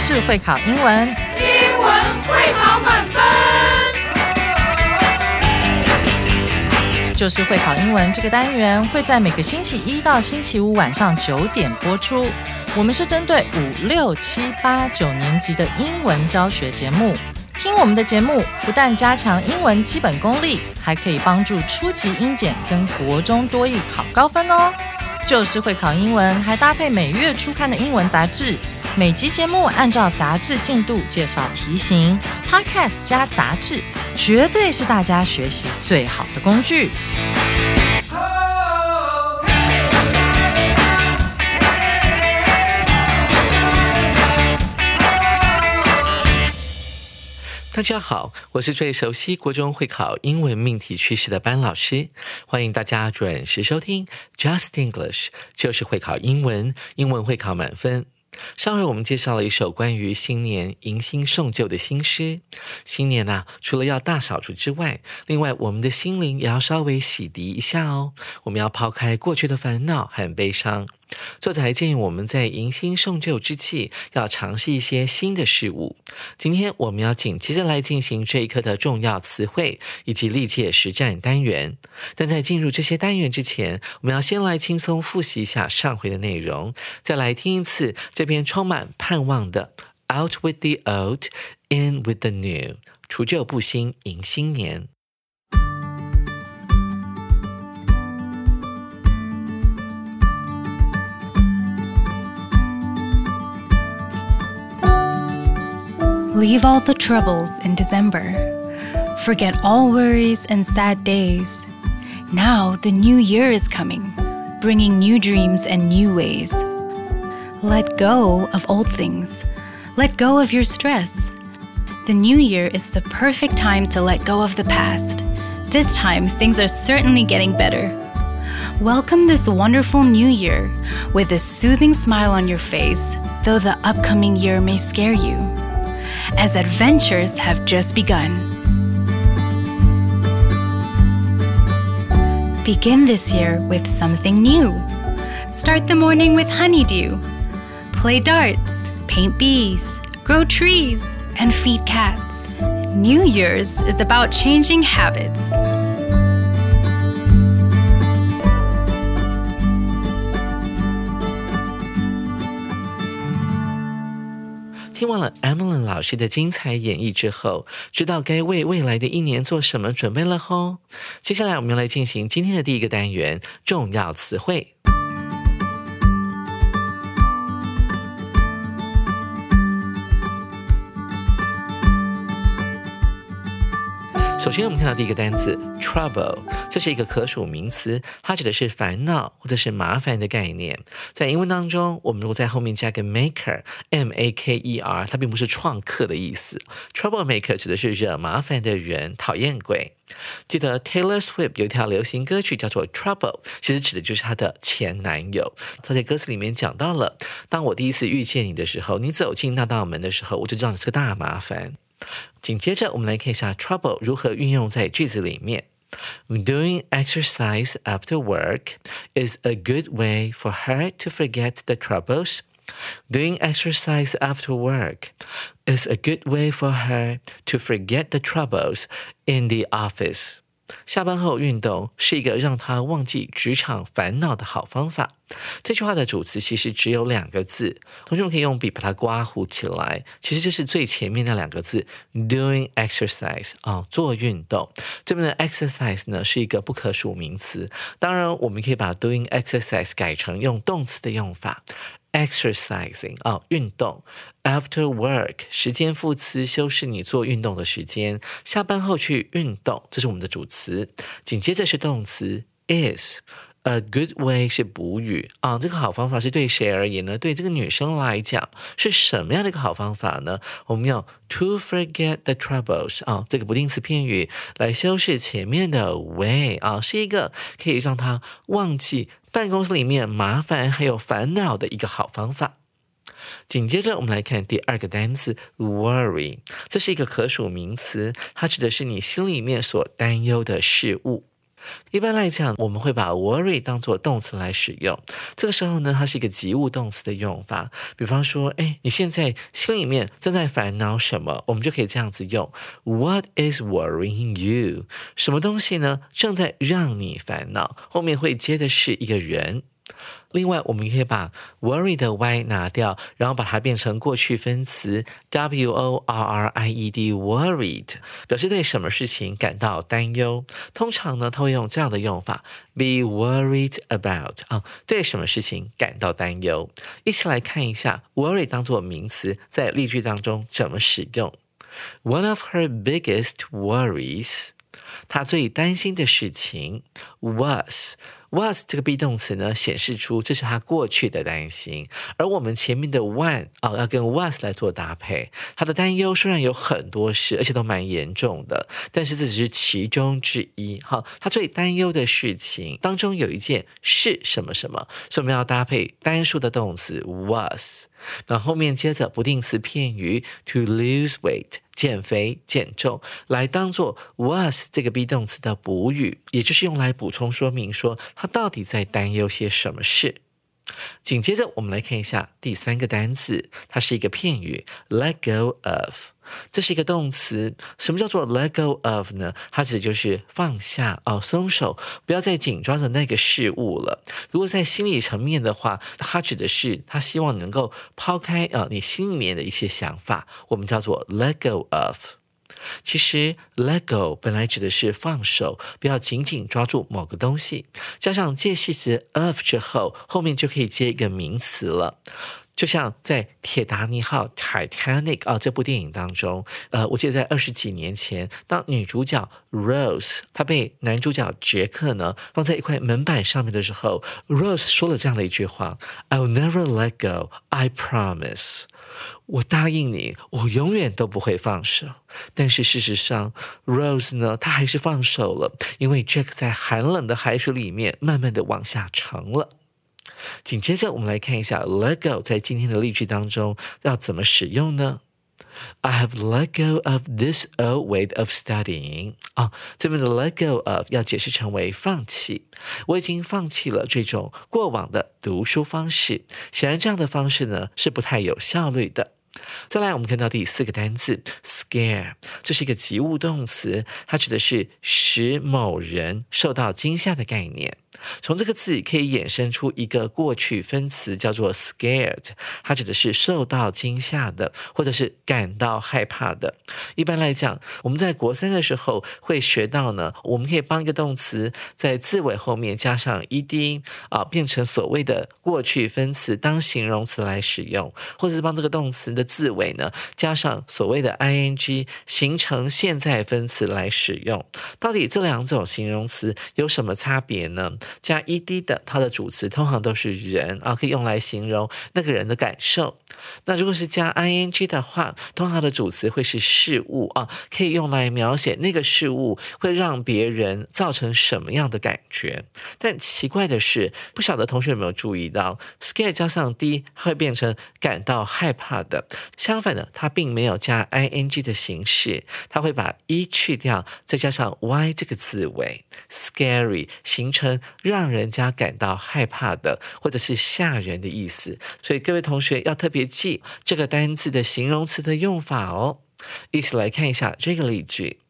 就是会考英文， 英文会考满分。 就是会考英文这个单元会在每个星期一到星期五晚上9点播出。我们是针对5、6、7、8、9年级的英文教学节目。听我们的节目，不但加强英文基本功力，还可以帮助初级英检跟国中多益考高分哦。就是会考英文，还搭配每月初刊的英文杂志。每集节目按照杂志进度介绍题型 ，Podcast 加杂志，绝对是大家学习最好的工具。 大家好，我是最熟悉国中会考英文命题趋势的班老师，欢迎大家准时收听 Just English， 就是会考英文，英文会考满分。上回我们介绍了一首关于新年迎新送旧的新诗。新年除了要大扫除之外，另外我们的心灵也要稍微洗涤一下哦。我们要抛开过去的烦恼和悲伤。作者还建议我们在迎新送旧之际，要尝试一些新的事物。今天我们要紧接着来进行这一课的重要词汇以及历届实战单元。但在进入这些单元之前，我们要先来轻松复习一下上回的内容，再来听一次这篇充满盼望的 Out with the old, in with the new， 除旧布新迎新年。 Leave all the troubles in December. Forget all worries and sad days. Now the new year is coming, bringing new dreams and new ways. Let go of old things. Let go of your stress. The new year is the perfect time to let go of the past. This time, things are certainly getting better. Welcome this wonderful new year with a soothing smile on your face, though the upcoming year may scare you.As adventures have just begun. Begin this year with something new. Start the morning with honeydew. Play darts, paint bees, grow trees, and feed cats. New Year's is about changing habits. 听完了 Emily 老师的精彩演绎之后，知道该为未来的一年做什么准备了吼。接下来我们来进行今天的第一个单元，重要词汇。首先我们看到第一个单字 trouble， 这是一个可数名词，它指的是烦恼或者是麻烦的概念。在英文当中，我们如果在后面加个 maker M-A-K-E-R， 它并不是创客的意思。 troublemaker 指的是惹麻烦的人，讨厌鬼。记得 Taylor Swift 有一条流行歌曲叫做 Trouble， 其实指的就是她的前男友。她在歌词里面讲到了，当我第一次遇见你的时候，你走进那道门的时候，我就知道你是个大麻烦。紧接着我们来看一下 trouble 如何运用在句子里面。Doing exercise after work is a good way for her to forget the troubles. Doing exercise after work is a good way for her to forget the troubles in the office. 下班后运动是一个让她忘记职场烦恼的好方法。这句话的主词其实只有2个字，同学们可以用笔把它刮糊起来，其实就是最前面那2个字 doing exercise， 做运动。这边的 exercise 呢是一个不可数名词，当然我们可以把 doing exercise 改成用动词的用法，exercising 运动。After work 时间副词修饰你做运动的时间，下班后去运动，这是我们的主词。紧接着是动词 is。A good way 是补语这个好方法是对谁而言呢？对这个女生来讲是什么样的一个好方法呢？我们用 to forget the troubles 这个不定词片语来修饰前面的 way 是一个可以让她忘记办公室里面麻烦还有烦恼的一个好方法。紧接着我们来看第2个单词 worry， 这是一个可数名词，它指的是你心里面所担忧的事物。 一般来讲，我们会把 worry 当作动词来使用。这个时候呢，它是一个及物动词的用法。比方说，你现在心里面正在烦恼什么？我们就可以这样子用 What is worrying you？ 什么东西呢？正在让你烦恼。后面会接的是一个人。另外，我们可以把 worry 的 y 拿掉，然后把它变成过去分词 worried worried， 表示对什么事情感到担忧。通常呢，它会用这样的用法 be worried about， 对什么事情感到担忧。一起来看一下 worry 当作名词在例句当中怎么使用。One of her biggest worries， 她最担心的事情 was这个 be 动词呢，显示出这是他过去的担心，而我们前面的 one 要跟 was 来做搭配。他的担忧虽然有很多事，而且都蛮严重的，但是这只是其中之一。他最担忧的事情当中有一件是什么什么，所以我们要搭配单数的动词 was， 那后面接着不定词片语 to lose weight，减肥减重，来当做 was 这个 be 动词的补语，也就是用来补充说明说他到底在担忧些什么事。紧接着我们来看一下第三个单字，它是一个片语 let go of， 这是一个动词。什么叫做 let go of 呢？它指的就是放下松手，不要再紧抓着那个事物了。如果在心理层面的话，它指的是他希望能够抛开你心里面的一些想法，我们叫做 let go of。其实 let go 本来指的是放手，不要紧紧抓住某个东西，加上介系词 of 之后，后面就可以接一个名词了。就像在铁达尼号 Titanic 这部电影当中，我记得在20几年前，当女主角 Rose 她被男主角杰克呢放在一块门板上面的时候， Rose 说了这样的一句话 I'll never let go, I promise， 我答应你，我永远都不会放手。但是事实上 Rose 呢，她还是放手了，因为 Jack 在寒冷的海水里面慢慢的往下沉了。紧接着我们来看一下 let go 在今天的例句当中要怎么使用呢？ I have let go of this old way of studying， 这边的 let go of 要解释成为放弃，我已经放弃了这种过往的读书方式。显然这样的方式呢是不太有效率的。再来我们看到第四个单字 scare， 这是一个及物动词，它指的是使某人受到惊吓的概念。从这个字可以衍生出一个过去分词叫做 scared， 它指的是受到惊吓的，或者是感到害怕的。一般来讲，我们在国3的时候会学到呢，我们可以帮一个动词在字尾后面加上 ed， 变成所谓的过去分词当形容词来使用，或者是帮这个动词的字尾呢加上所谓的 ing， 形成现在分词来使用。到底这两种形容词有什么差别呢？加 ed 的它的主词通常都是人可以用来形容那个人的感受。那如果是加 ing 的话，通常的主词会是事物可以用来描写那个事物会让别人造成什么样的感觉。但奇怪的是，不晓得同学有没有注意到 scare 加上 d 会变成感到害怕的，相反的它并没有加 ing 的形式，它会把 e 去掉，再加上 y 这个字尾 scary， 形成让人家感到害怕的或者是吓人的意思。所以各位同学要特别记这个单字的形容词的用法哦。一起来看一下这个例句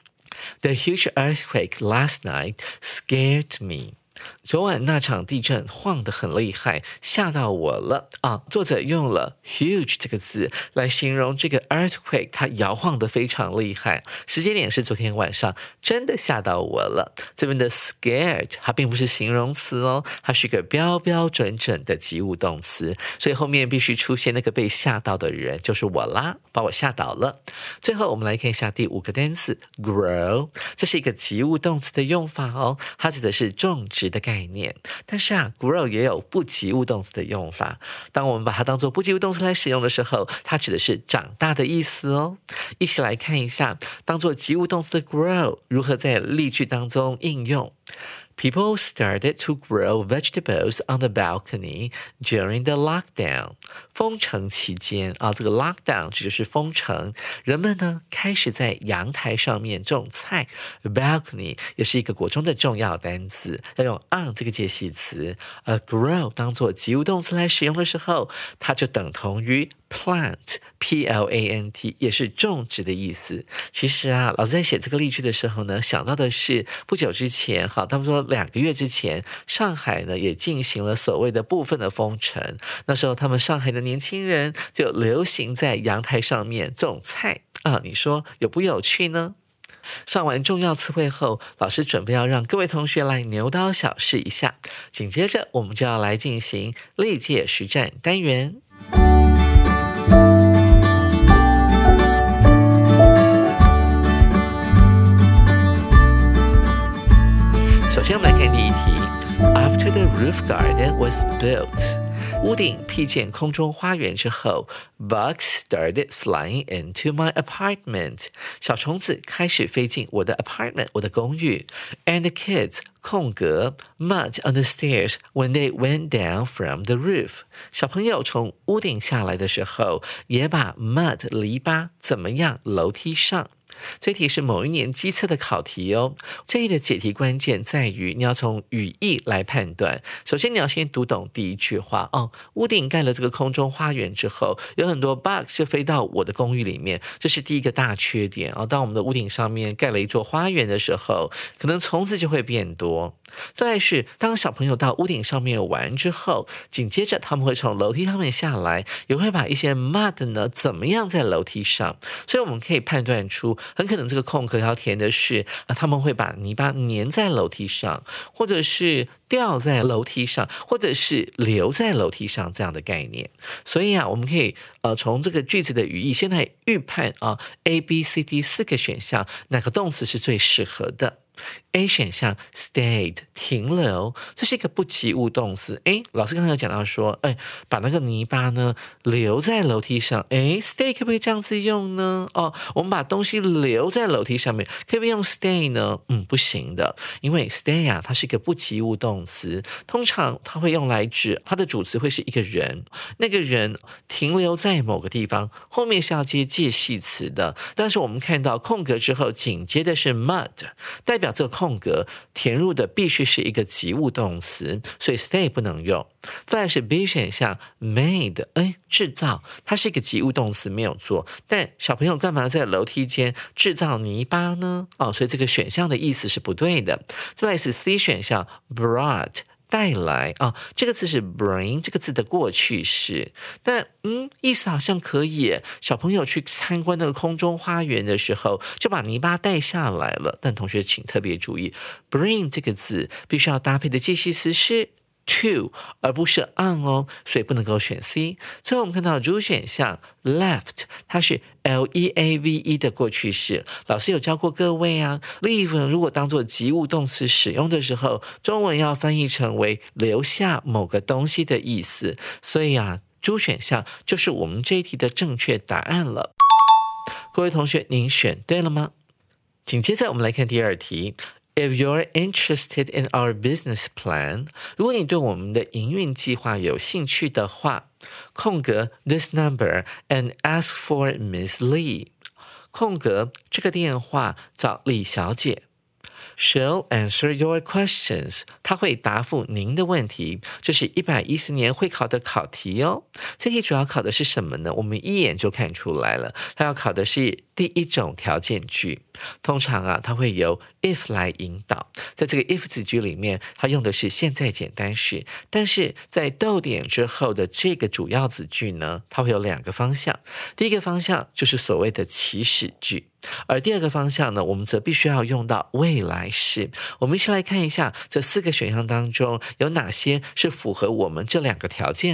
The huge earthquake last night scared me。昨晚那场地震晃得很厉害，吓到我了作者用了 huge 这个字来形容这个 earthquake， 它摇晃得非常厉害。时间点是昨天晚上，真的吓到我了。这边的 scared 它并不是形容词它是一个标标准准的及物动词，所以后面必须出现那个被吓到的人，就是我啦，把我吓倒了。最后我们来看一下第5个单词 grow， 这是一个及物动词的用法它指的是种植的概念。但是grow 也有不及物动词的用法，当我们把它当作不及物动词来使用的时候，它指的是长大的意思一起来看一下当作及物动词的 grow 如何在例句当中应用。 People started to grow vegetables on the balcony during the lockdown. 封城期间啊，这个 lockdown 指的是封城，人们呢开始在阳台上面种菜。balcony 也是一个国中的重要单词，要用 on 这个介系词。grow 当做及物动词来使用的时候，它就等同于 plant P-L-A-N-T， 也是种植的意思。其实啊，老师在写这个例句的时候呢，想到的是不久之前，差不多2个月之前，上海呢也进行了所谓的部分的封城。那时候他们上海的年轻人就流行在阳台上面种菜啊，你说有不有趣呢？上完重要词汇后，老师准备要让各位同学来牛刀小试一下。紧接着我们就要来进行历届实战单元。首先我们来看第一题。 After the roof garden was built， 屋顶辟建空中花园之后， Bugs started flying into my apartment， 小虫子开始飞进我的 apartment， 我的公寓。 And the kids mud on the stairs when they went down from the roof， 小朋友从屋顶下来的时候，也把 mud 泥巴怎么样楼梯上。这题是某一年基测的考题哦。这一的解题关键在于你要从语义来判断。首先你要先读懂第一句话哦，屋顶盖了这个空中花园之后，有很多 bugs 就飞到我的公寓里面，这是第一个大缺点哦。当我们的屋顶上面盖了一座花园的时候，可能虫子就会变多。再来是当小朋友到屋顶上面玩之后，紧接着他们会从楼梯上面下来，也会把一些 mud 呢怎么样在楼梯上，所以我们可以判断出很可能这个空格要填的是他们会把泥巴粘在楼梯上，或者是掉在楼梯上，或者是留在楼梯上这样的概念。所以啊，我们可以从这个句子的语义先来预判啊 A、B、C、D 4个选项哪个动词是最适合的。A 选项 stayed 停留，这是一个不及物动词。老师刚才有讲到说，把那个泥巴呢留在楼梯上。stay 可不可以这样子用呢？我们把东西留在楼梯上面，可不可以用 stay 呢？不行的，因为 stay 啊，它是一个不及物动词，通常它会用来指它的主词会是一个人，那个人停留在某个地方，后面是要接介系词的。但是我们看到空格之后紧接的是 mud， 代表这个空格填入的必须是一个及物动词，所以 stay 不能用。再来是 B 选项 made， 制造，它是一个及物动词没有错，但小朋友干嘛在楼梯间制造泥巴呢？所以这个选项的意思是不对的。再来是 C 选项 brought，带来这个字是 bring 这个字的过去式，但意思好像可以，小朋友去参观那个空中花园的时候就把泥巴带下来了。但同学请特别注意 bring 这个字必须要搭配的介系词是 to 而不是 on 哦，所以不能够选 C。 最后我们看到主选项 left， 它是 L-E-A-V-E 的过去式。老师有教过各位啊 leave 如果当作及物动词使用的时候，中文要翻译成为留下某个东西的意思。所以啊，主选项就是我们这一题的正确答案了。各位同学，您选对了吗？紧接着我们来看第二题。If you're interested in our business plan， 如果你对我们的营运计划有兴趣的话，空格 this number and ask for Miss Lee， 空格这个电话找李小姐。She'll answer your questions， 她会答复您的问题。这是110年会考的考题哦。这题主要考的是什么呢？我们一眼就看出来了，它要考的是第一种条件句。通常啊，它会由 if 来引导，在这个 if 子句里面，它用的是现在简单式，但是在逗点之后的这个主要子句呢，它会有2个方向。第一个方向就是所谓的祈使句，而第二个方向呢，我们则必须要用到未来式。我们一起来看一下这4个选项当中有哪些是符合我们这2个条件的。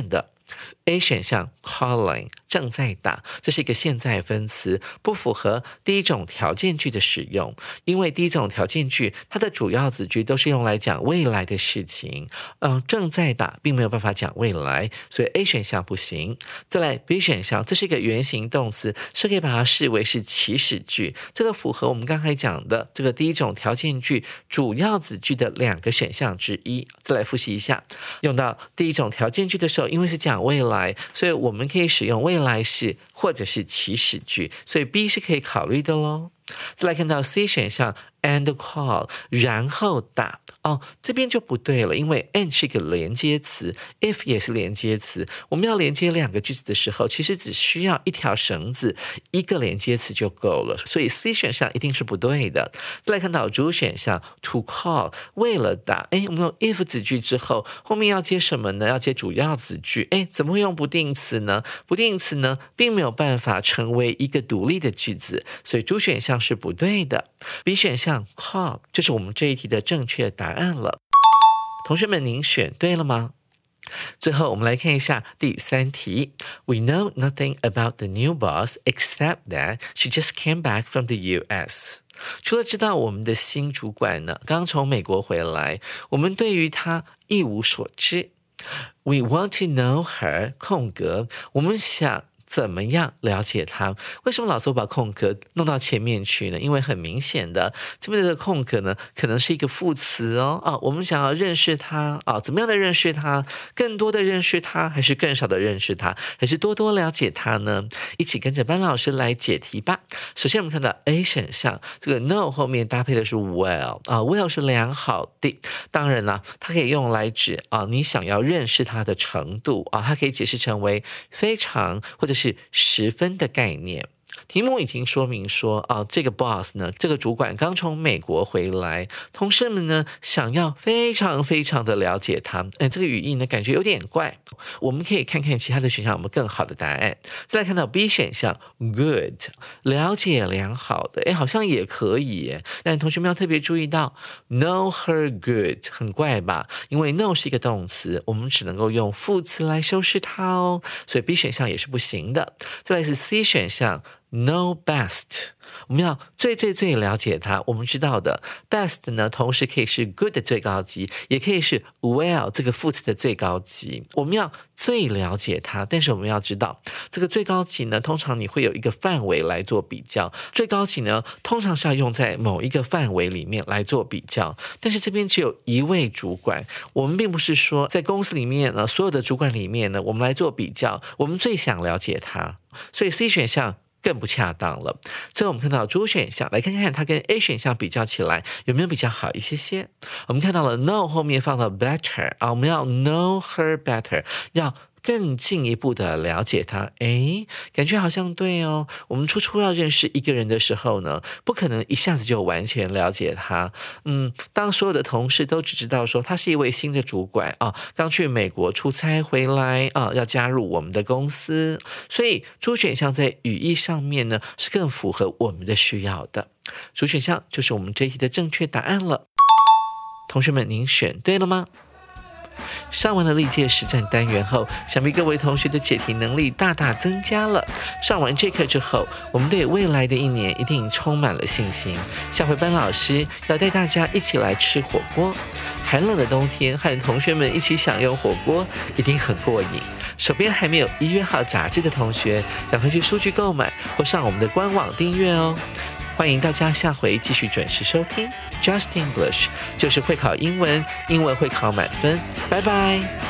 A 选项 calling 正在打，这是一个现在分词，不符合第一种条件句的使用，因为第一种条件句它的主要子句都是用来讲未来的事情，正在打并没有办法讲未来，所以 A 选项不行。再来 B 选项，这是一个原形动词，是可以把它视为是祈使句，这个符合我们刚才讲的这个第一种条件句主要子句的2个选项之一。再来复习一下，用到第一种条件句的时候，因为是讲未来，所以我们可以使用未来式或者是祈使句，所以 B 是可以考虑的咯。再来看到 C 选项 and call 然后打，这边就不对了，因为 and 是一个连接词， if 也是连接词，我们要连接2个句子的时候，其实只需要一条绳子1个连接词就够了，所以 C 选项一定是不对的。再来看到主选项 to call 为了打，我们用 if 子句之后，后面要接什么呢？要接主要子句，怎么会用不定词呢？不定词呢并没有办法成为一个独立的句子，所以主选项是不对的。 B 选项 call 就是我们这一题的正确答案了。同学们，您选对了吗？最后我们来看一下第3题。 We know nothing about the new boss except that she just came back from the US。 除了知道我们的新主管呢刚从美国回来，我们对于她一无所知。 We want to know her 空格，我们想怎么样了解它？为什么老师会把空格弄到前面去呢？因为很明显的，这边的空格呢，可能是一个副词我们想要认识它怎么样的认识它？更多的认识它，还是更少的认识它，还是多多了解它呢？一起跟着班老师来解题吧。首先我们看到 A 选项，这个 no 后面搭配的是 well，well 是良好的，当然啦，它可以用来指你想要认识它的程度它可以解释成为非常或者是十分的概念。题目已经说明说这个 boss 呢，这个主管刚从美国回来，同事们呢想要非常非常的了解他。这个语义呢感觉有点怪，我们可以看看其他的选项有没有更好的答案。再来看到 B 选项 good 了解良好的，好像也可以耶，但同学们要特别注意到 know her good 很怪吧，因为 know 是一个动词，我们只能够用副词来修饰它所以 B 选项也是不行的。再来是 C 选项know best， 我们要最了解它。我们知道的 best 呢，同时可以是 good 的最高级，也可以是 well 这个副词的最高级。我们要最了解它，但是我们要知道这个最高级呢，通常你会有一个范围来做比较。最高级呢，通常是要用在某一个范围里面来做比较。但是这边只有一位主管，我们并不是说在公司里面呢，所有的主管里面呢，我们来做比较，我们最想了解他。所以 C 选项更不恰当了。最后我们看到主选项，来看看它跟 A 选项比较起来有没有比较好一些。我们看到了 know 后面放到 better 我们要 know her better， 要更进一步的了解他。感觉好像对我们初要认识一个人的时候呢，不可能一下子就完全了解他。当所有的同事都只知道说他是一位新的主管刚去美国出差回来要加入我们的公司，所以主选项在语义上面呢是更符合我们的需要的。主选项就是我们这一题的正确答案了。同学们，您选对了吗？上完了历届实战单元后，想必各位同学的解题能力大大增加了。上完这课之后，我们对未来的一年一定充满了信心。下回班老师要带大家一起来吃火锅，寒冷的冬天和同学们一起享用火锅，一定很过瘾。手边还没有1月号杂志的同学，赶快去书局购买或上我们的官网订阅哦。欢迎大家下回继续准时收听 Just English， 就是会考英文，英文会考满分。拜拜。